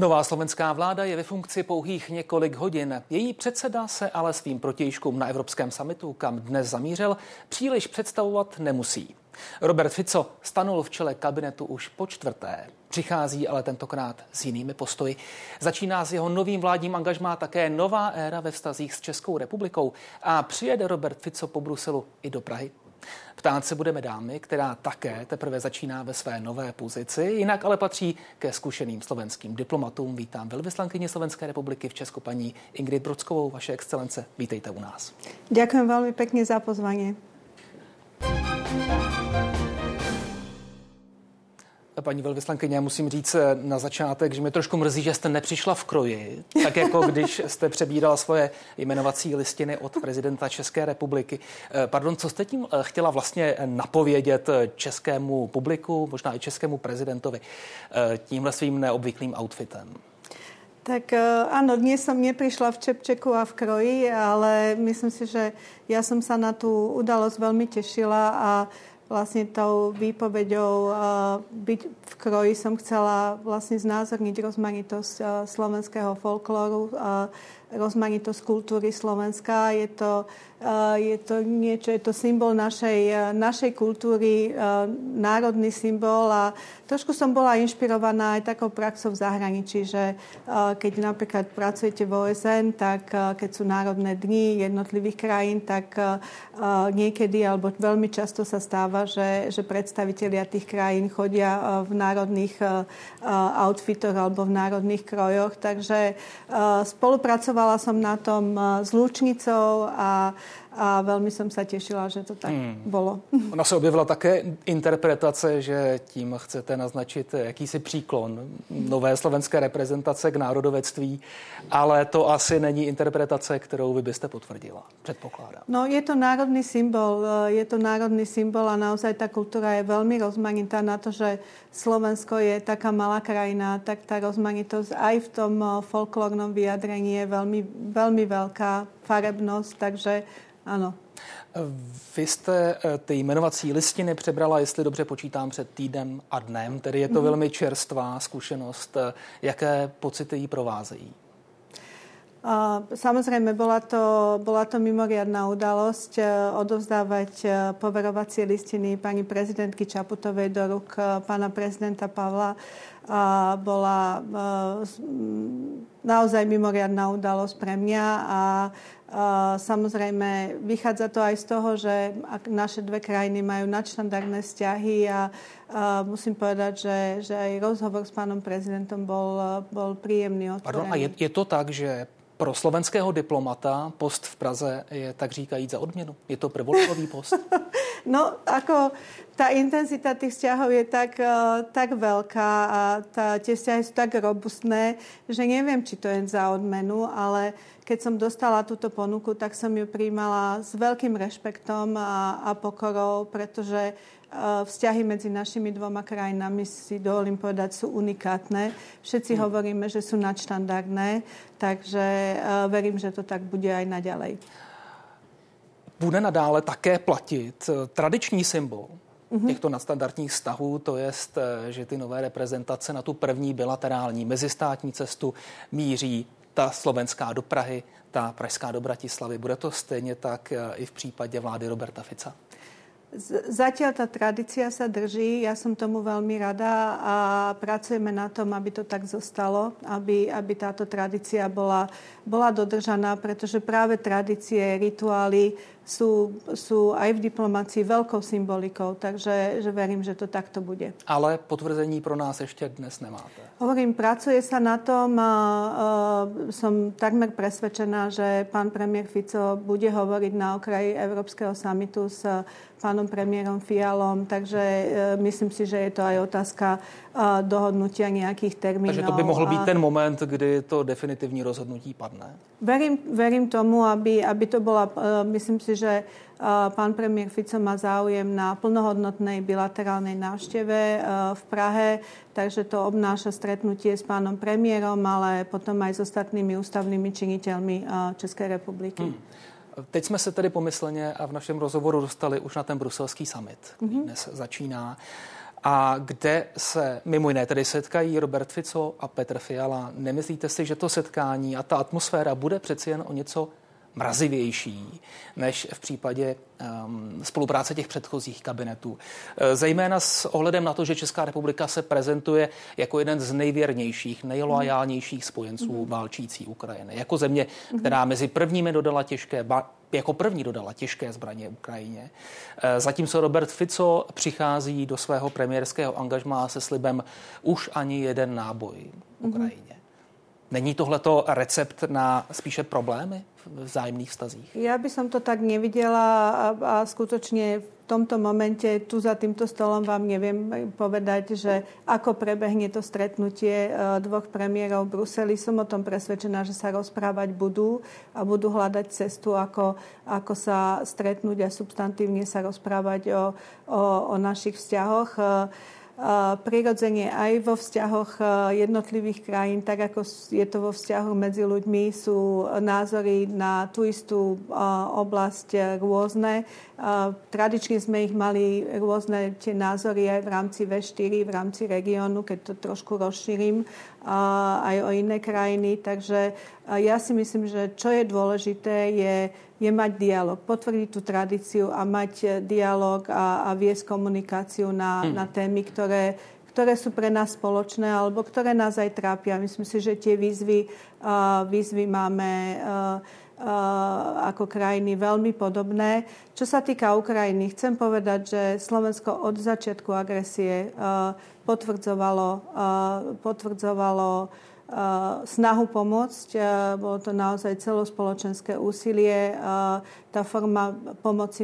Nová slovenská vláda je ve funkci pouhých několik hodin. Její předseda se ale svým protějškům na Evropském summitu, kam dnes zamířil, příliš představovat nemusí. Robert Fico stanul v čele kabinetu už po čtvrté. Přichází ale tentokrát s jinými postoji. Začíná s jeho novým vládním angažmá také nová éra ve vztazích s Českou republikou a přijede Robert Fico po Bruselu i do Prahy. Ptát se budeme dámy, která také teprve začíná ve své nové pozici, jinak ale patří ke zkušeným slovenským diplomatům. Vítám velvyslankyni Slovenské republiky v Česku paní Ingrid Brockovou. Vaše excelence, vítejte u nás. Ďakujem veľmi pekne za pozvanie. Paní velvyslankyně, já musím říct na začátek, že mě trošku mrzí, že jste nepřišla v kroji, tak jako když jste přebírala svoje jmenovací listiny od prezidenta České republiky. Pardon, co jste tím chtěla vlastně napovědět českému publiku, možná i českému prezidentovi, tímhle svým neobvyklým outfitem? Tak áno, dnes som neprišla v čepčeku a v kroji, ale myslím si, že ja som sa na tú udalosť veľmi tešila a vlastne tou výpoveďou byť v kroji som chcela vlastne znázorniť rozmanitosť slovenského folklóru, rozmanitosť kultúry Slovenska. Je to niečo, je to symbol našej kultúry, národný symbol a trošku som bola inšpirovaná aj takou praxou v zahraničí, že keď napríklad pracujete v OSN, tak keď sú národné dni jednotlivých krajín, tak niekedy alebo veľmi často sa stáva, že predstavitelia tých krajín chodia v národných outfitoch alebo v národných krojoch. Takže spolupracovala som na tom s Lučnicou a velmi jsem se těšila, že to tak bylo. Ona se objevila také interpretace, že tím chcete naznačit jakýsi příklon nové slovenské reprezentace k národovectví, ale to asi není interpretace, kterou vy byste potvrdila, předpokládám. No, je to národný symbol a naozaj ta kultura je velmi rozmanitá na to, že Slovensko je taká malá krajina, tak ta rozmanitosť aj v tom folklórnom vyjadrení je velmi, velmi velká farebnosť, takže ano. Vy jste ty jmenovací listiny přebrala, jestli dobře počítám, před týdnem a dnem, tedy je to velmi čerstvá zkušenost. Jaké pocity jí provázejí? Samozrejme, bola to mimoriadna udalosť odovzdávať poverovacie listiny pani prezidentky Čaputovej do rúk pána prezidenta Pavla. Bola naozaj mimoriadna udalosť pre mňa a samozrejme vychádza to aj z toho, že naše dve krajiny majú nadštandardné vzťahy a musím povedať, že aj rozhovor s pánom prezidentom bol príjemný, otvorený. Pardon, a je to tak, že pro slovenského diplomata post v Praze je tak říkajíc za odměnu? Je to prvolegový post? No, ako tá intenzita tých vzťahov je tak veľká a tie vzťahy sú tak robustné, že neviem, či to je za odmenu, ale keď som dostala túto ponuku, tak som ju prijímala s veľkým rešpektom a pokorou, pretože vzťahy medzi našimi dvoma krajinami, si dovolím povedať, sú unikátne. Všetci hovoríme, že sú nadštandardné, takže verím, že to tak bude aj naďalej. Bude nadále také platit tradiční symbol těchto nadstandardních vztahů, to jest, že ty nové reprezentace na tu první bilaterální mezistátní cestu míří ta slovenská do Prahy, ta pražská do Bratislavy. Bude to stejně tak i v případě vlády Roberta Fica? Zatiaľ tá tradícia sa drží, ja som tomu veľmi rada a pracujeme na tom, aby to tak zostalo, aby táto tradícia bola dodržaná, pretože práve tradície, rituály sú aj v diplomácii veľkou symbolikou, takže verím, že to takto bude. Ale potvrzení pro nás ešte dnes nemáte. Hovorím, pracuje sa na tom a som takmer presvedčená, že pán premiér Fico bude hovoriť na okraji Európskeho summitu s pánom premiérom Fialom, takže myslím si, že je to aj otázka dohodnutia nejakých termínov. Takže to by mohl být ten moment, kdy to definitivní rozhodnutí padne? Verím tomu, aby to bola, myslím si, že pán premiér Fico má záujem na plnohodnotnej bilaterálnej návšteve v Prahe, takže to obnáša stretnutie s pánom premiérom, ale potom aj s ostatnými ústavnými činiteľmi Českej republiky. Teď jsme se tedy pomyslně a v našem rozhovoru dostali už na ten bruselský summit, který dnes začíná. a kde se mimo jiné tedy setkají Robert Fico a Petr Fiala. Nemyslíte si, že to setkání a ta atmosféra bude přeci jen o něco mrazivější než v případě spolupráce těch předchozích kabinetů? Zejména s ohledem na to, že Česká republika se prezentuje jako jeden z nejvěrnějších, nejloajálnějších spojenců válčící Ukrajiny. Jako země, která mezi prvními jako první dodala těžké zbraně Ukrajině. Zatímco Robert Fico přichází do svého premiérského angažmá se slibem už ani jeden náboj Ukrajině. Není tohleto recept na spíše problémy v vzájemných vztazích? Ja by som to tak nevidela a skutočne v tomto momente tu za týmto stolom vám neviem povedať, že ako prebehne to stretnutie dvoch premiérov v Bruseli. Som o tom presvedčená, že sa rozprávať budú a budú hľadať cestu, ako sa stretnúť a substantívne sa rozprávať o našich vzťahoch. Prirodzene aj vo vzťahoch jednotlivých krajín, tak ako je to vo vzťahoch medzi ľuďmi, sú názory na tú istú oblasť rôzne. Tradične sme ich mali rôzne tie názory aj v rámci V4, v rámci regiónu, keď to trošku rozšírim, aj o iné krajiny. Takže ja si myslím, že čo je dôležité, je mať dialog, potvrdiť tú tradíciu a mať dialog a viesť komunikáciu na témy, ktoré sú pre nás spoločné alebo ktoré nás aj trápia. Myslím si, že tie výzvy máme ako krajiny veľmi podobné. Čo sa týka Ukrajiny, chcem povedať, že Slovensko od začiatku agresie potvrdzovalo snahu pomôcť. Bolo to naozaj celospoločenské úsilie. Tá forma pomoci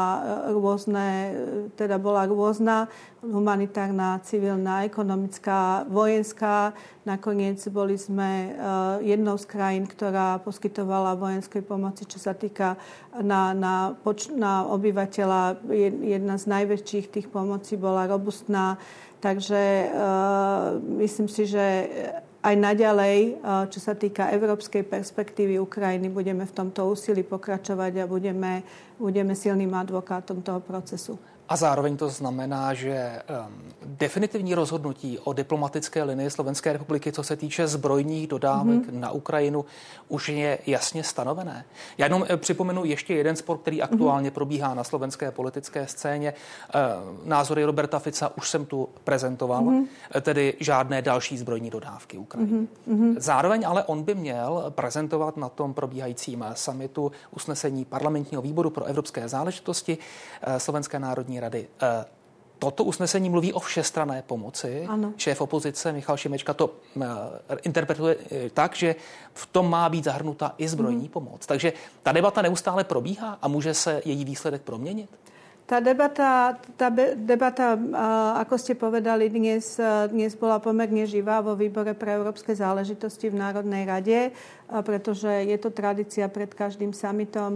bola rôzna, humanitárna, civilná, ekonomická, vojenská. Nakoniec boli sme jednou z krajín, ktorá poskytovala vojenskej pomoci, čo sa týka na obyvateľa. Jedna z najväčších tých pomocí bola robustná. Takže myslím si, že aj naďalej, čo sa týka európskej perspektívy Ukrajiny, budeme v tomto úsilí pokračovať a budeme silným advokátom toho procesu. A zároveň to znamená, že definitivní rozhodnutí o diplomatické linii Slovenské republiky, co se týče zbrojních dodávek na Ukrajinu, už je jasně stanovené. Já jenom připomenu ještě jeden spor, který aktuálně probíhá na slovenské politické scéně. Názory Roberta Fica už jsem tu prezentoval, tedy žádné další zbrojní dodávky Ukrajině. Zároveň ale on by měl prezentovat na tom probíhajícím summitu usnesení parlamentního výboru pro evropské záležitosti Slovenské národní rady. Toto usnesení mluví o všestranné pomoci. Ano. Šéf opozice Michal Šimečka to interpretuje tak, že v tom má být zahrnuta i zbrojní pomoc. Takže ta debata neustále probíhá a může se její výsledek proměnit? Tá debata, ako ste povedali, dnes bola pomerne živá vo výbore pre európske záležitosti v Národnej rade, pretože je to tradícia pred každým summitom.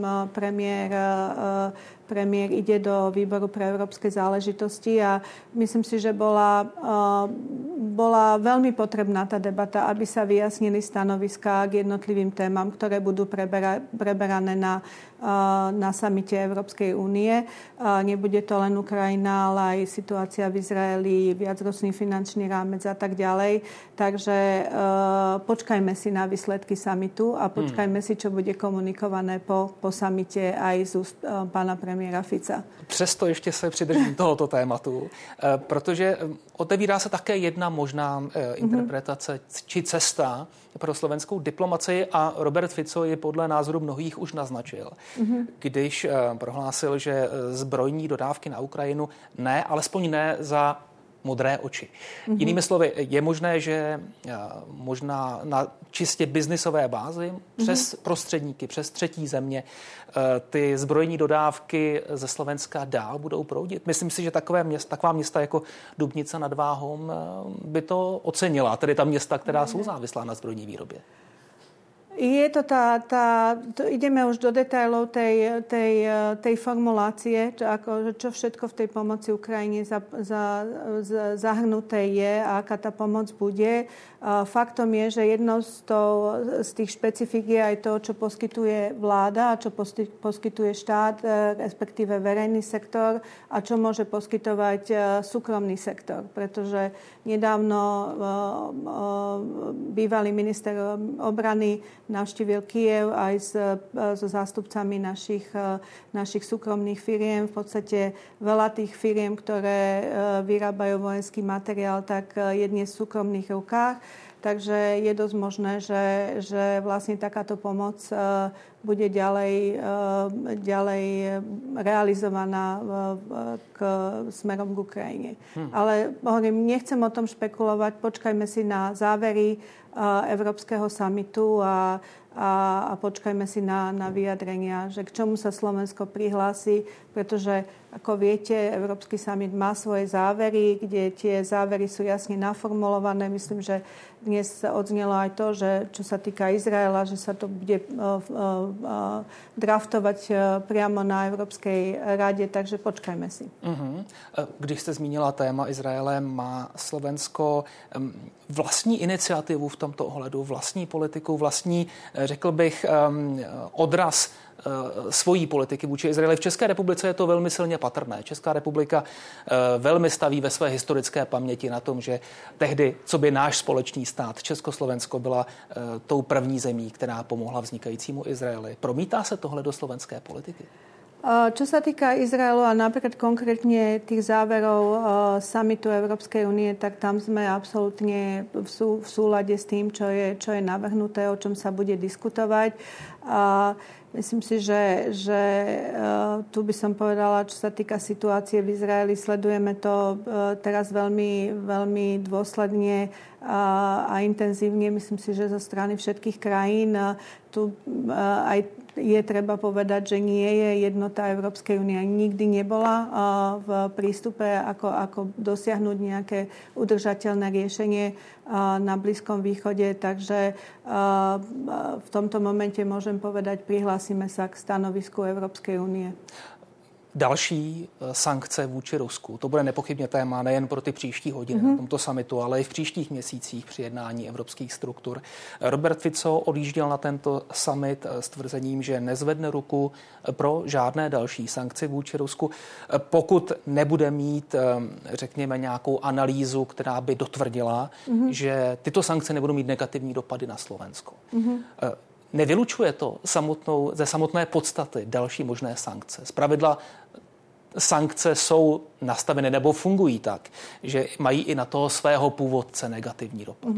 Premiér ide do výboru pre európske záležitosti a myslím si, že bola veľmi potrebná tá debata, aby sa vyjasnili stanoviská k jednotlivým témam, ktoré budú preberané na samite Európskej únie. Nebude to len Ukrajina, ale aj situácia v Izraeli, viacročný finančný rámec a tak ďalej. Takže počkajme si na výsledky samitu a počkajme si, čo bude komunikované po samite aj z úst pána premiéra Fica. Přesto ještě se přidržím tohoto tématu, protože otevírá se také jedna možná interpretace či cesta pro slovenskou diplomacii a Robert Fico ji podle názoru mnohých už naznačil, když prohlásil, že zbrojní dodávky na Ukrajinu ne, alespoň ne za modré oči. Jinými slovy, je možné, že možná na čistě biznisové bázi přes prostředníky, přes třetí země ty zbrojní dodávky ze Slovenska dál budou proudit. Myslím si, že taková města jako Dubnice nad Váhom by to ocenila, tedy ta města, která jsou závislá na zbrojní výrobě. Je to ideme už do detailov tej formulácie, čo všetko v tej pomoci Ukrajine zahrnuté je a aká tá pomoc bude. Faktom je, že jednou z tých špecifík je aj to, čo poskytuje vláda a čo poskytuje štát, respektíve verejný sektor a čo môže poskytovať súkromný sektor. Pretože nedávno bývalý minister obrany navštívil Kyjev aj so zástupcami našich súkromných firiem. V podstate veľa tých firiem, ktoré vyrábajú vojenský materiál, tak je dnes v súkromných rukách. Takže je dosť možné, že vlastne takáto pomoc bude ďalej realizovaná smerom k Ukrajine. Ale hovorím, nechcem o tom špekulovať. Počkajme si na závery Európskeho samitu a počkajme si na vyjadrenia, že k čomu sa Slovensko prihlási, pretože, ako viete, Európsky samit má svoje závery, kde tie závery sú jasne naformulované. Myslím, že dnes odznelo aj to, že čo sa týka Izraela, že sa to bude draftovať priamo na Európskej rade, takže počkajme si. Když jste zmínila téma Izraele, má Slovensko vlastní iniciativu v tomto ohledu, vlastní politiku, vlastní, řekl bych, odraz svojí politiky vůči Izraeli. V České republice je to velmi silně patrné. Česká republika velmi staví ve své historické paměti na tom, že tehdy, co by náš společný stát, Československo, byla tou první zemí, která pomohla vznikajícímu Izraeli. Promítá se tohle do slovenské politiky? Čo sa týka Izraelu a napríklad konkrétne tých záverov samitu Európskej únie, tak tam sme absolútne v súlade s tým, čo je navrhnuté, o čom sa bude diskutovať. Myslím si, že tu by som povedala, čo sa týka situácie v Izraeli, sledujeme to teraz veľmi, veľmi dôsledne a intenzívne. Myslím si, že zo strany všetkých krajín tu aj je treba povedať, že nie je jednota Európskej únie. Nikdy nebola v prístupe, ako dosiahnuť nejaké udržateľné riešenie na Blízkom východe. Takže v tomto momente môžem povedať, prihlásime sa k stanovisku Európskej únie. Další sankce vůči Rusku. To bude nepochybně téma nejen pro ty příští hodiny na tomto summitu, ale i v příštích měsících při jednání evropských struktur. Robert Fico odjížděl na tento summit s tvrzením, že nezvedne ruku pro žádné další sankce vůči Rusku, pokud nebude mít, řekněme, nějakou analýzu, která by dotvrdila, že tyto sankce nebudou mít negativní dopady na Slovensko. Nevylučuje to ze samotné podstaty další možné sankce. Zpravidla sankce jsou nastaveny nebo fungují tak, že mají i na toho svého původce negativní dopad.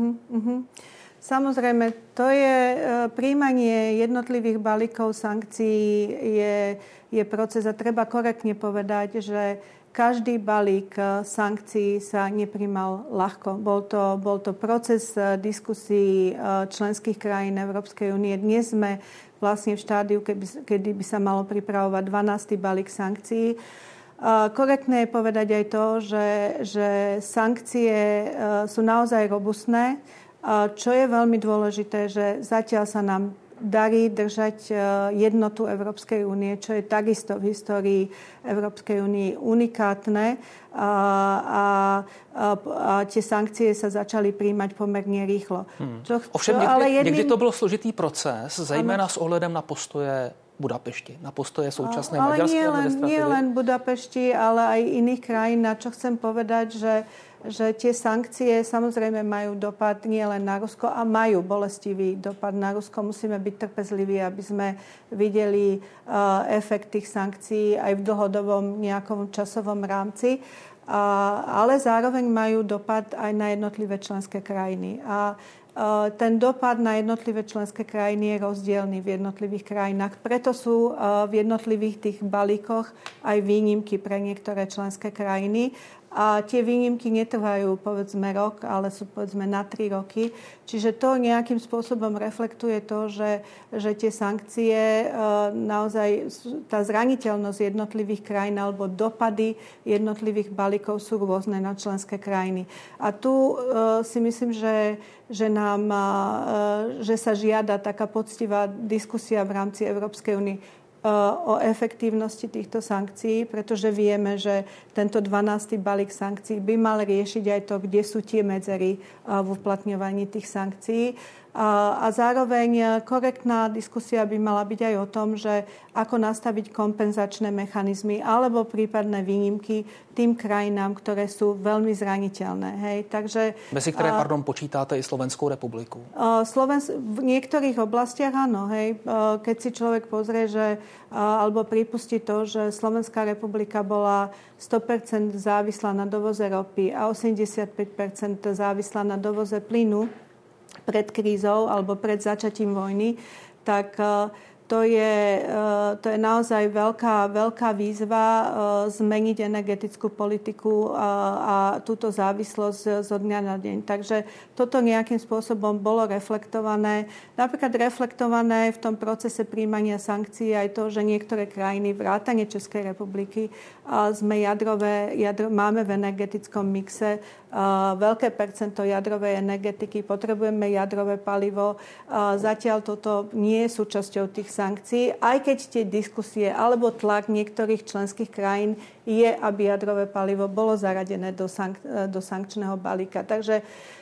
Samozrejme, to je príjmanie jednotlivých balíkov sankcií je proces a treba korektne povedať, že každý balík sankcií sa nepríjmal ľahko. Bol to proces diskusí členských krajín Európskej únie. Dnes sme vlastne v štádiu, kedy by sa malo pripravovať 12. balík sankcií. Korektné je povedať aj to, že sankcie sú naozaj robustné. Čo je veľmi dôležité, že zatiaľ sa nám darí držať jednotu Európskej únie, čo je takisto v histórii Európskej únie unikátne a tie sankcie sa začali príjmať pomerne rýchlo. Ovšem někdy to byl složitý proces, zejména s ohledem na postoje Budapešti, na postoje současné maďarské administratívy. Ale nie len Budapešti, ale aj iných krajín. Na čo chcem povedať, že tie sankcie samozrejme majú dopad nie len na Rusko a majú bolestivý dopad na Rusko. Musíme byť trpezliví, aby sme videli efekt tých sankcií aj v dlhodobom nejakom časovom rámci. Ale zároveň majú dopad aj na jednotlivé členské krajiny. A ten dopad na jednotlivé členské krajiny je rozdielny v jednotlivých krajinách. Preto sú v jednotlivých tých balíkoch aj výnimky pre niektoré členské krajiny. a tie výnimky netrvajú povedzme rok, ale sú povedzme na 3 roky. Čiže to nejakým spôsobom reflektuje to, že tie sankcie naozaj, tá zraniteľnosť jednotlivých krajín alebo dopady jednotlivých balíkov sú rôzne na členské krajiny. A tu si myslím, že sa žiada taká poctivá diskusia v rámci Európskej únie o efektívnosti týchto sankcií, pretože vieme, že tento 12. balík sankcií by mal riešiť aj to, kde sú tie medzery v uplatňovaní tých sankcií. A zároveň korektná diskusia by mala byť aj o tom, že ako nastaviť kompenzačné mechanizmy alebo prípadné výnimky tým krajinám, ktoré sú veľmi zraniteľné. Hej. Takže, mezi ktoré, počítáte i Slovenskou republiku? V niektorých oblastiach áno. Hej. Keď si človek pozrie, alebo pripustí to, že Slovenská republika bola 100% závislá na dovoze ropy a 85% závislá na dovoze plynu pred krízou alebo pred začatím vojny, tak to je naozaj veľká výzva zmeniť energetickú politiku a túto závislosť zo dňa na deň. Takže toto nejakým spôsobom bolo reflektované. Napríklad reflektované v tom procese príjmania sankcií aj to, že niektoré krajiny, vrátane Českej republiky, máme v energetickom mixe veľké percento jadrovej energetiky, potrebujeme jadrové palivo. Zatiaľ toto nie je súčasťou tých sankcií, aj keď tie diskusie alebo tlak niektorých členských krajín je, aby jadrové palivo bolo zaradené do sankčného balíka. Takže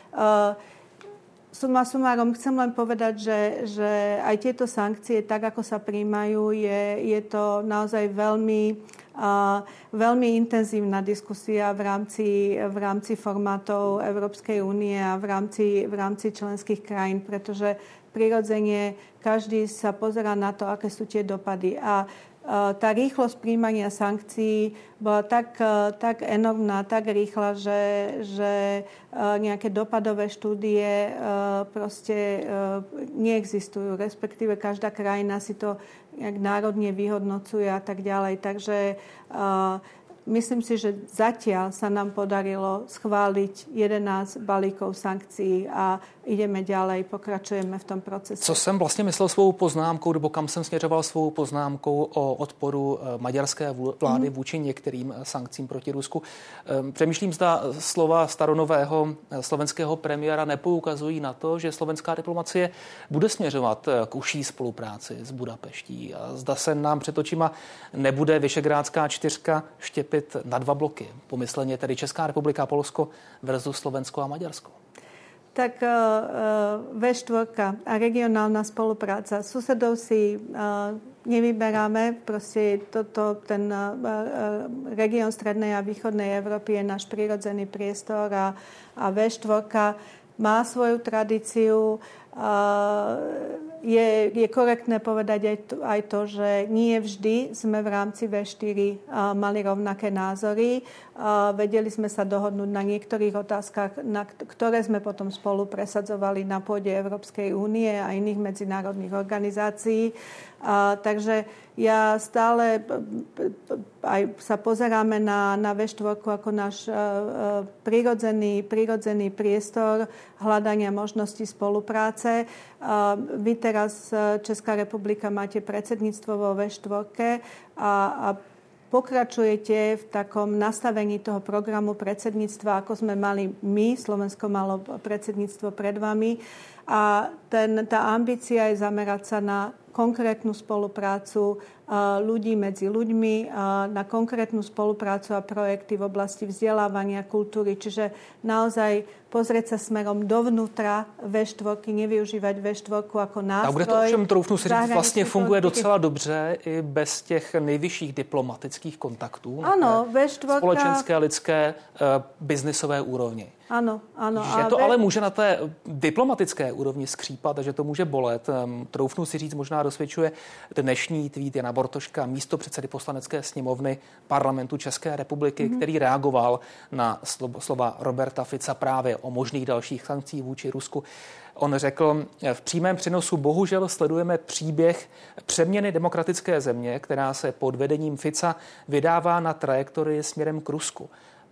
summa summarum chcem len povedať, že aj tieto sankcie, tak ako sa prijímajú, je to naozaj veľmi intenzívna diskusia v rámci formátov Európskej únie a v rámci členských krajín, pretože prirodzene každý sa pozerá na to, aké sú tie dopady. A tá rýchlosť príjmania sankcií bola tak enormná, tak rýchla, že nejaké dopadové štúdie proste neexistujú. Respektíve každá krajina si to nejak národne vyhodnocuje a tak ďalej. Takže myslím si, že zatiaľ sa nám podarilo schváliť 11 balíkov sankcií a ideme ďalej, pokračujeme v tom procese. Co jsem vlastně myslel svou poznámkou, nebo kam jsem směřoval svou poznámkou o odporu maďarské vlády vůči některým sankcím proti Rusku. Přemýšlím, zda slova staronového slovenského premiéra nepoukazují na to, že slovenská diplomacie bude směřovat k užší spolupráci s Budapeští. A zda se nám před očima nebude Visegrádská čtyřka štěpit na 2 bloky. Pomyslně tedy Česká republika, Polsko versus Slovensko a Maďarsko. Tak V4 a regionálna spolupráca. Susedov si nevyberáme. Proste ten región strednej a východnej Európy je náš prirodzený priestor a V4 má svoju tradíciu. Je korektné povedať aj to, že nie vždy sme v rámci V4 mali rovnaké názory. Vedeli sme sa dohodnúť na niektorých otázkach, ktoré sme potom spolu presadzovali na pôde Európskej únie a iných medzinárodných organizácií. Takže ja stále aj sa pozeráme na V4 ako náš prirodzený priestor hľadania možností spolupráce. Vy teraz, Česká republika, máte predsedníctvo vo V4 a pokračujete v takom nastavení toho programu predsedníctva, ako sme mali my. Slovensko malo predsedníctvo pred vami. A tá ambícia je zamerať sa na konkrétnu spoluprácu ľudí medzi ľuďmi, na konkrétnu spoluprácu a projekty v oblasti vzdelávania, kultúry. Čiže naozaj pozrieť sa smerom dovnútra V4, nevyužívať V4 ako nástroj. A kde to ovšem, troufnu si říct, vlastně funguje docela dobře i bez těch nejvyšších diplomatických kontaktů. Ano, V4. Společenské, lidské, biznisové úrovni. Ano. Že to ale může na té diplomatické úrovni skřípat a že to může bolet. Troufnu si říct, možná dosvědčuje dnešní tweet Jana Bortoška, místopředsedy Poslanecké sněmovny Parlamentu České republiky, který reagoval na slova Roberta Fica právě o možných dalších sankcích vůči Rusku. On řekl, v přímém přenosu bohužel sledujeme příběh přeměny demokratické země, která se pod vedením Fica vydává na trajektorii směrem k Rusku.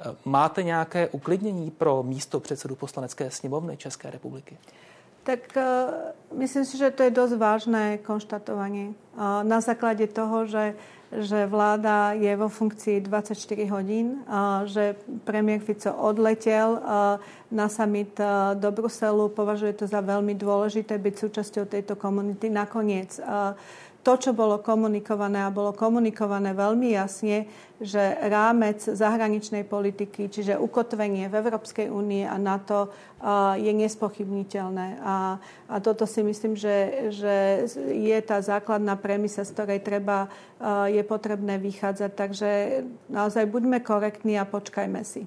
Máte nějaké uklidnění pro místo předsedu Poslanecké sněmovny České republiky? Tak myslím si, že to je dosť vážne konštatovanie. Na základe toho, že vláda je vo funkcii 24 hodín, že premiér Fico odletel na summit do Bruselu, považuje to za veľmi dôležité byť súčasťou tejto komunity. Nakoniec to, čo bolo komunikované a bolo komunikované veľmi jasne, že rámec zahraničnej politiky, čiže ukotvenie v Európskej únii a NATO je nespochybniteľné. A toto si myslím, že je tá základná premisa, z ktorej je potrebné vychádzať. Takže naozaj buďme korektní a počkajme si.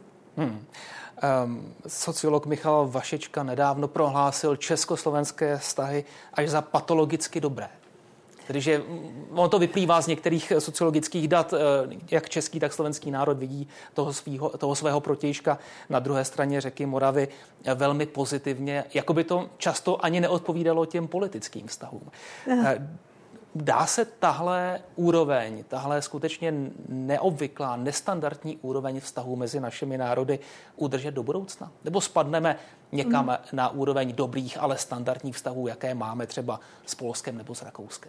Sociolog Michal Vašečka nedávno prohlásil československé vztahy až za patologicky dobré. Tedy, že ono to vyplývá z některých sociologických dat, jak český, tak slovenský národ vidí toho svého protějška na druhé straně řeky Moravy velmi pozitivně, jako by to často ani neodpovídalo těm politickým vztahům. Dá se tahle úroveň, tahle skutečně neobvyklá, nestandardní úroveň vztahů mezi našimi národy udržet do budoucna? Nebo spadneme někam na úroveň dobrých, ale standardních vztahů, jaké máme třeba s Polskem nebo s Rakouskem?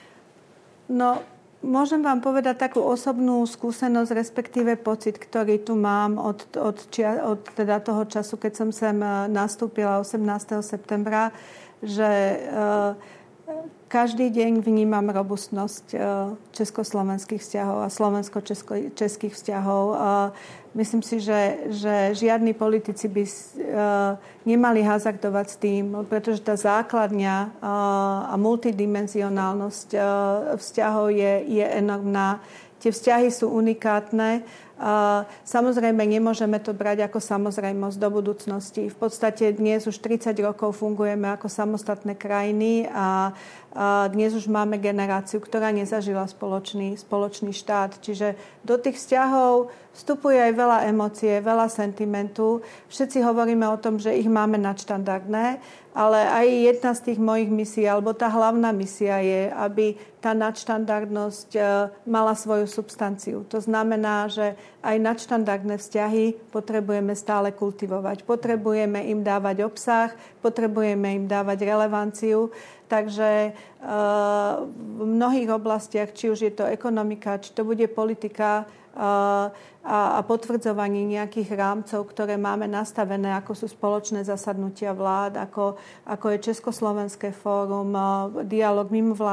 No, môžem vám povedať takú osobnú skúsenosť, respektíve pocit, ktorý tu mám od teda toho času, keď som sem nastúpila 18. septembra, že každý deň vnímam robustnosť československých vzťahov a slovensko-českých vzťahov. Myslím si, že žiadni politici by nemali hazardovať s tým, pretože tá základňa a multidimenzionálnosť vzťahov je enormná. Tie vzťahy sú unikátne. Samozrejme, nemôžeme to brať ako samozrejmosť do budúcnosti. V podstate dnes už 30 rokov fungujeme ako samostatné krajiny a dnes už máme generáciu, ktorá nezažila spoločný štát. Čiže do tých vzťahov vstupuje aj veľa emócie, veľa sentimentu. Všetci hovoríme o tom, že ich máme nadštandardné, ale aj jedna z tých mojich misií, alebo tá hlavná misia je, aby tá nadštandardnosť mala svoju substanciu. To znamená, že aj nadštandardné vzťahy potrebujeme stále kultivovať. Potrebujeme im dávať obsah, potrebujeme im dávať relevanciu. Takže v mnohých oblastiach, či už je to ekonomika, či to bude politika a potvrdzovanie nejakých rámcov, ktoré máme nastavené, ako sú spoločné zasadnutia vlád, ako je Československé fórum, dialog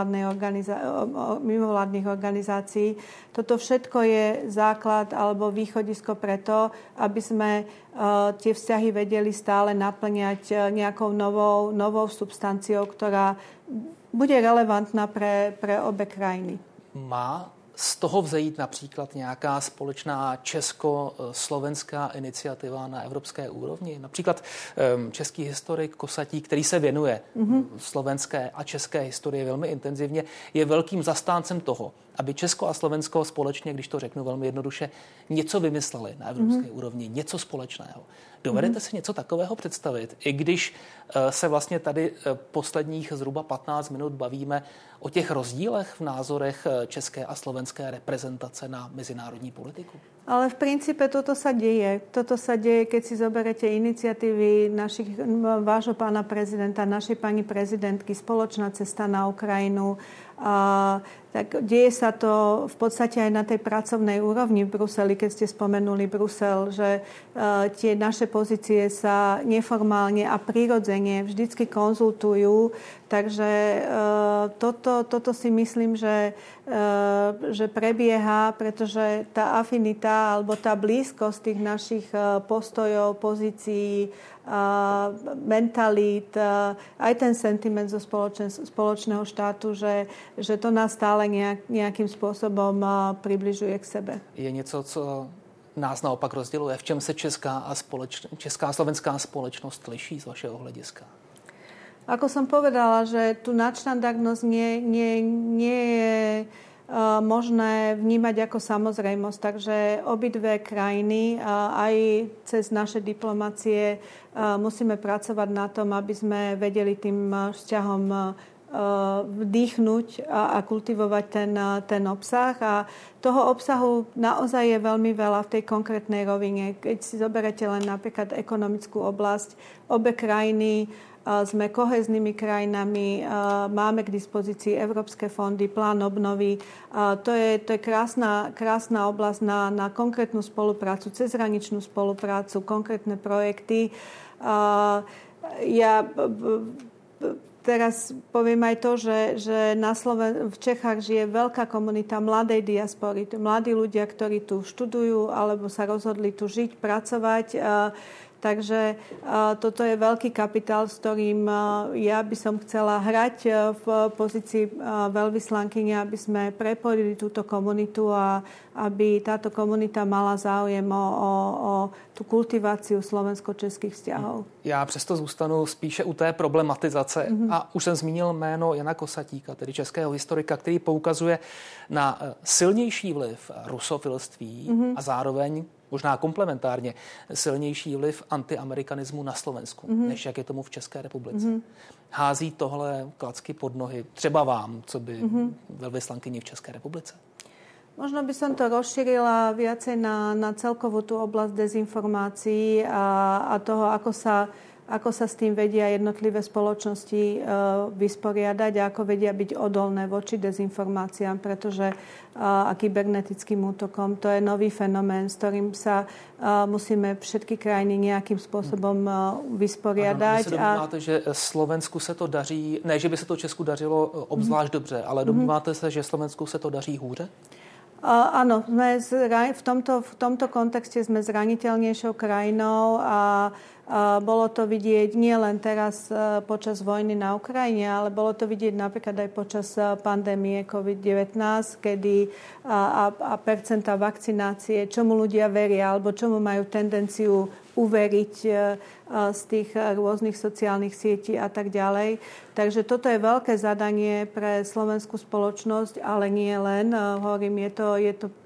mimovládnych organizácií. Toto všetko je základ alebo východisko preto, aby sme tie vzťahy vedeli stále naplňať nejakou novou substanciou, ktorá bude relevantná pre obe krajiny. Má z toho vzejít například nějaká společná česko-slovenská iniciativa na evropské úrovni? Například český historik Kosatík, který se věnuje slovenské a české historii velmi intenzivně, je velkým zastáncem toho, aby Česko a Slovensko společně, když to řeknu velmi jednoduše, něco vymysleli na evropské úrovni, něco společného. Dovedete si něco takového představit? I když se vlastně tady posledních zhruba 15 minut bavíme o těch rozdílech v názorech české a slovenské reprezentace na mezinárodní politiku? Ale v princípe toto sa deje. Toto sa deje, keď si zoberete iniciatívy vášho pána prezidenta, našej pani prezidentky, spoločná cesta na Ukrajinu. Tak deje sa to v podstate aj na tej pracovnej úrovni v Bruseli, keď ste spomenuli Brusel, že tie naše pozície sa neformálne a prirodzene vždycky konzultujú. Takže toto si myslím, že prebieha, pretože tá afinita alebo tá blízkosť tých našich postojov, pozícií, mentalít, aj ten sentiment zo spoločného štátu, že to nás stále nejakým spôsobom približuje k sebe. Je něco, co nás naopak rozděluje? V čem se česká a slovenská společnost liší z vašeho hlediska? Ako som povedala, že tu nadštandardnosť nie je možné vnímať ako samozrejmosť. Takže obidve krajiny aj cez naše diplomácie musíme pracovať na tom, aby sme vedeli tým vzťahom vdýchnuť a kultivovať ten obsah. A toho obsahu naozaj je veľmi veľa v tej konkrétnej rovine. Keď si zoberete len napríklad ekonomickú oblasť, obe krajiny sme kohéznymi krajinami, máme k dispozícii európske fondy, plán obnovy. To je krásna oblasť na konkrétnu spoluprácu, cezhraničnú spoluprácu, konkrétne projekty. Ja teraz poviem aj to, že v Čechách žije veľká komunita mladej diaspory. Mladí ľudia, ktorí tu študujú alebo sa rozhodli tu žiť, pracovať. Takže toto je veľký kapitál, s ktorým ja by som chcela hrať v pozícii veľvyslankyne, aby sme prepojili túto komunitu a aby táto komunita mala záujem o tu kultiváciu slovensko-českých vzťahov. Já přesto zůstanu spíše u té problematizace. A už jsem zmínil jméno Jana Kosatíka, tedy českého historika, který poukazuje na silnější vliv rusofilství a zároveň možná komplementárně silnější vliv antiamerikanismu na Slovensku, než jak je tomu v České republice. Hází tohle klacky pod nohy třeba vám, co by velvyslankyni v České republice? Možno by som to rozšírila viacej na celkovú tú oblasť dezinformácií a toho, ako sa s tým vedia jednotlivé spoločnosti vysporiadať a ako vedia byť odolné voči dezinformáciám, pretože a kybernetickým útokom to je nový fenomén, s ktorým sa musíme všetky krajiny nejakým spôsobom vysporiadať. Ano, vy se domníváte, že Slovensku se to daří, ne, že by se to Česku dařilo obzvlášť dobře, ale domníváte se, že Slovensku se to daří hůře? Áno, v tomto kontexte sme zraniteľnejšou krajinou a bolo to vidieť nie len teraz počas vojny na Ukrajine, ale bolo to vidieť napríklad aj počas pandémie COVID-19, kedy a percenta vakcinácie, čomu ľudia veria alebo čomu majú tendenciu uveriť z tých rôznych sociálnych sietí a tak ďalej. Takže toto je veľké zadanie pre slovenskú spoločnosť, ale nie len. Hovorím, je to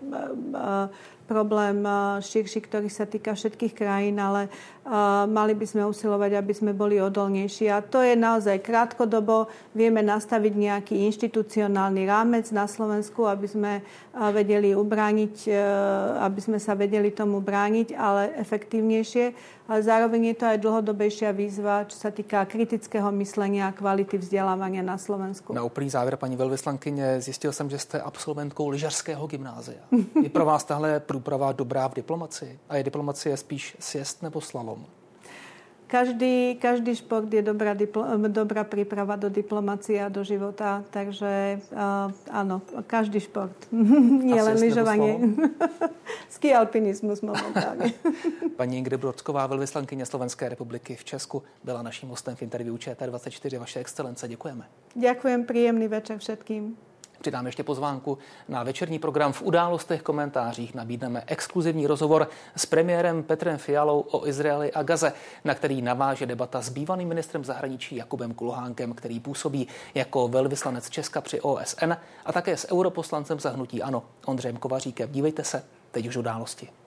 problém širší, ktorý sa týka všetkých krajín, ale mali by sme usilovať, aby sme boli odolnejší. A to je naozaj krátkodobo. Vieme nastaviť nejaký inštitucionálny rámec na Slovensku, aby sme vedeli ubrániť, aby sme sa vedeli tomu brániť, ale efektívnejšie. Ale zároveň je to aj dlhodobejšia výzva, čo sa týka kritického myslenia a kvality vzdelávania na Slovensku. Na úplný závěr, paní velvyslankyně, zjistil jsem, že jste absolventkou lyžařského gymnázia. Je pro vás tahle průprava dobrá v diplomacii? A je diplomacie spíš sjezd nebo slalom? Každý šport je dobrá príprava do diplomacie a do života, takže áno, každý šport. Nie len lyžovanie. Ski alpinizmus momentálne. Paní Ingrid Brodsková, velvyslankyně Slovenské republiky v Česku, byla naším hostem v interview ČT24. Vaše excelence, děkujeme. Ďakujem, príjemný večer všetkým. Přidám ještě pozvánku na večerní program V událostech komentářích. Nabídneme exkluzivní rozhovor s premiérem Petrem Fialou o Izraeli a Gaze, na který naváže debata s bývalým ministrem zahraničí Jakubem Kulhánkem, který působí jako velvyslanec Česka při OSN, a také s europoslancem za hnutí ANO Ondřejem Kovaříkem. Dívejte se, teď už události.